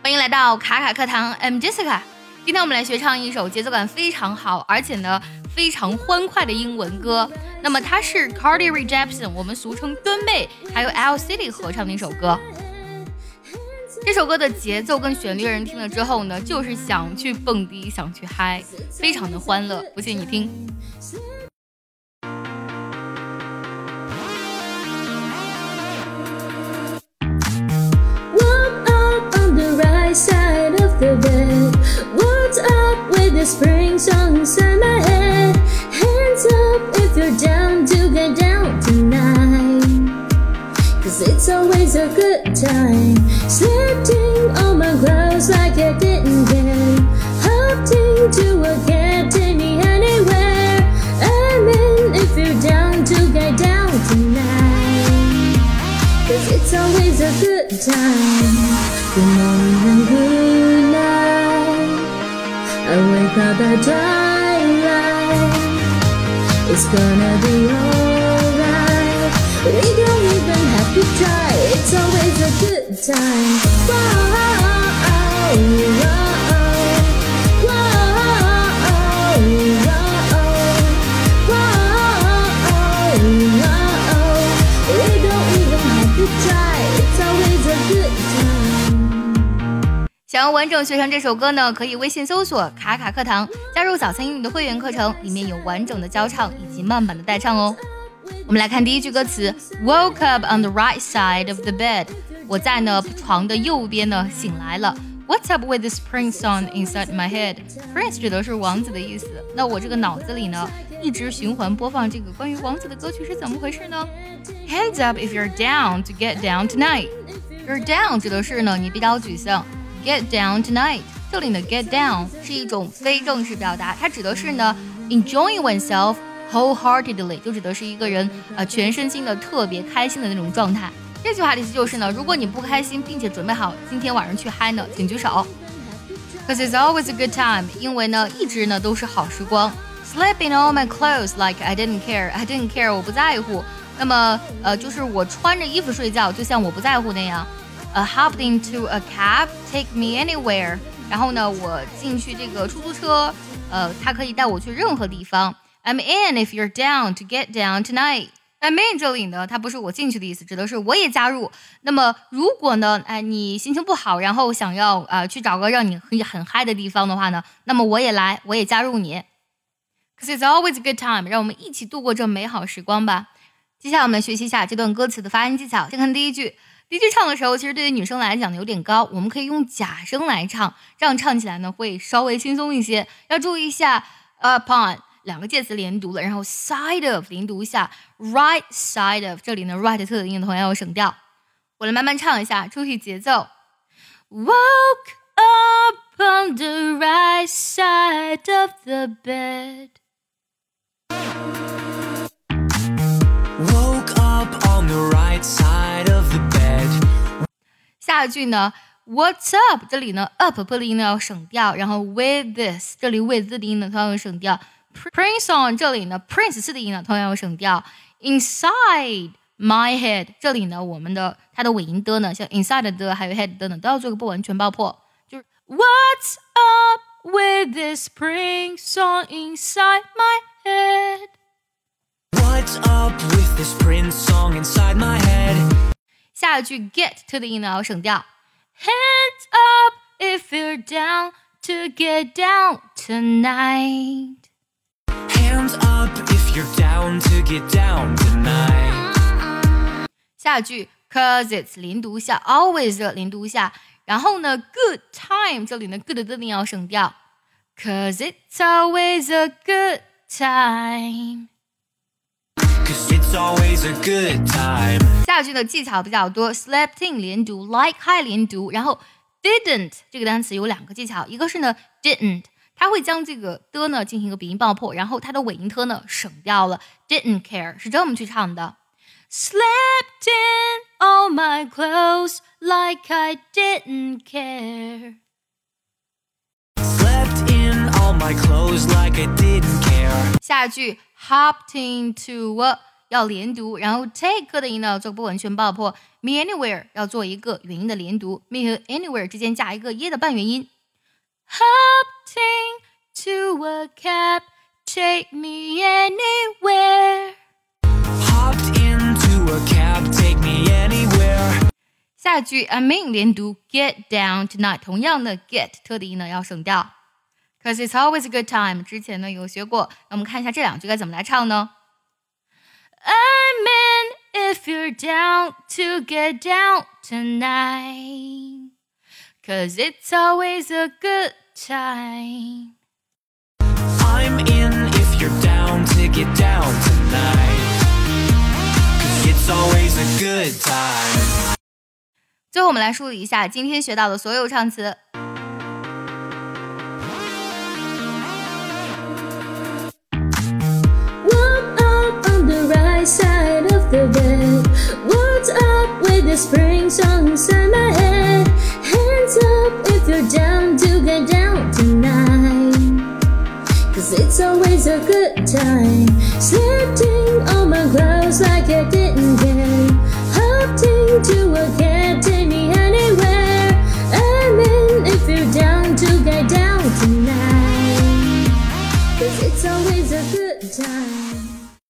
欢迎来到卡卡课堂 ，I'm Jessica。今天我们来学唱一首节奏感非常好，而且呢非常欢快的英文歌。那么它是 Carly Rae Jepsen， 我们俗称敦贝，还有 L City 合唱的一首歌。这首歌的节奏跟旋律，人听了之后呢，就是想去蹦迪，想去嗨，非常的欢乐。不信你听。 Side of the bed. What's up with the spring song inside my head? Hands up if you're down to get down tonight. Cause it's always a good time. Slipping on my clothes like I didn't care. Hopped into a cab, take me anywhere. I'm in if you're down to get down tonight. Cause it's always a good time. Good morning and good night. I wake up at twilight. It's gonna be alright. We don't even have to try. It's always a good time. Whoa, whoa, whoa, whoa. We don't even have to try. It's always a good time. 想要完整学唱这首歌呢，可以微信搜索卡卡课堂，加入早餐英语的会员课程，里面有完整的教唱以及慢版的代唱哦。我们来看第一句歌词 Woke up on the right side of the bed。 我在呢床的右边呢醒来了。 What's up with this Prince song inside my head？ Prince 指的是王子的意思，那我这个脑子里呢一直循环播放这个关于王子的歌曲是怎么回事呢？ Hands up if you're down to get down tonight。 You're down 指的是呢你比较沮丧。Get down tonight， 这里呢 get down 是一种非正式表达，它指的是呢 enjoying oneself wholeheartedly， 就指的是一个人全身心的特别开心的那种状态。这句话的意思就是呢，如果你不开心并且准备好今天晚上去嗨呢，请举手。Cause it's always a good time， 因为呢一直呢都是好时光。Sleep in all my clothes like I didn't care， 我不在乎。那么就是我穿着衣服睡觉，就像我不在乎那样。Hopped into a cab, take me anywhere。 然后呢，我进去这个出租车，它可以带我去任何地方。I'm in if you're down to get down tonight。 I'm in 这里呢，它不是我进去的意思，指的是我也加入。那么如果呢，你心情不好，然后想要去找个让你很嗨的地方的话呢，那么我也来，我也加入你。Cause it's always a good time， 让我们一起度过这美好时光吧。接下来我们来学习一下这段歌词的发音技巧。先看第一句。第一句唱的时候，其实对于女生来讲呢有点高，我们可以用假声来唱，这样唱起来呢会稍微轻松一些。要注意一下 upon 两个介词连读了，然后 side of 连读一下 right side of， 这里呢 right 特的音同样要省掉。我来慢慢唱一下，注意节奏。 Woke up on the right side of the bed。 Woke up on the right side of the bed。 下一句呢 What's up 这里呢 up 破的音呢要省掉，然后 with this 这里 with 的音呢同样要省掉。 Prince on 这里呢 Prince 的音呢同样要省掉。 Inside my head 这里呢我们的它的尾音的呢像 inside 的还有 head 的呢都要做个不完全爆破，就是 What's up with this Prince on inside my head。 What's up with this Prince song inside my head？ 下一句 get 的音呢要省掉。 Hands up if you're down to get down tonight。 Hands up if you're down to get down tonight。 下一句 cause it's 连读下 always 的连读下，然后呢 good time 这里呢 good 的音要省掉。 Cause it's always a good time。 Cause it's always a good time。 下一句的技巧比较多， slept in 连读 like high 连读，然后 didn't 这个单词有两个技巧，一个是呢 didn't 它会将这个的呢进行一个鼻音爆破，然后它的尾音的呢省掉了。 didn't care 是这么去唱的。 Slept in all my clothes like I didn't care。 Slept in all my clothes like I didn't care。 下一句 hopped into a 要连读，然后 take 的音呢做不完全爆破 ，me anywhere 要做一个元音的连读 ，me 和 anywhere 之间加一个耶的半元音。Hopped into a cab, take me anywhere. Hopped into a cab, take me anywhere. 下句 I'm in 连读 get down tonight， 同样的 get 特的音呢要省掉。Cause it's always a good time， 之前呢有学过，那我们看一下这两句该怎么来唱呢 ？I'm in if you're down to get down tonight, cause it's always a good time. I'm in if you're down to get down tonight, 'cause it's always a good time. 最后我们来梳理一下今天学到的所有唱词。 Side of the bed. What's up with the spring song inside my head? Hands up if you're down to get down tonight, 'cause it's always a good time. Slipping on my clothes like I didn't care. Hopped into a cab, take me anywhere. I'm in if you're down to get down tonight, 'cause it's always a good time.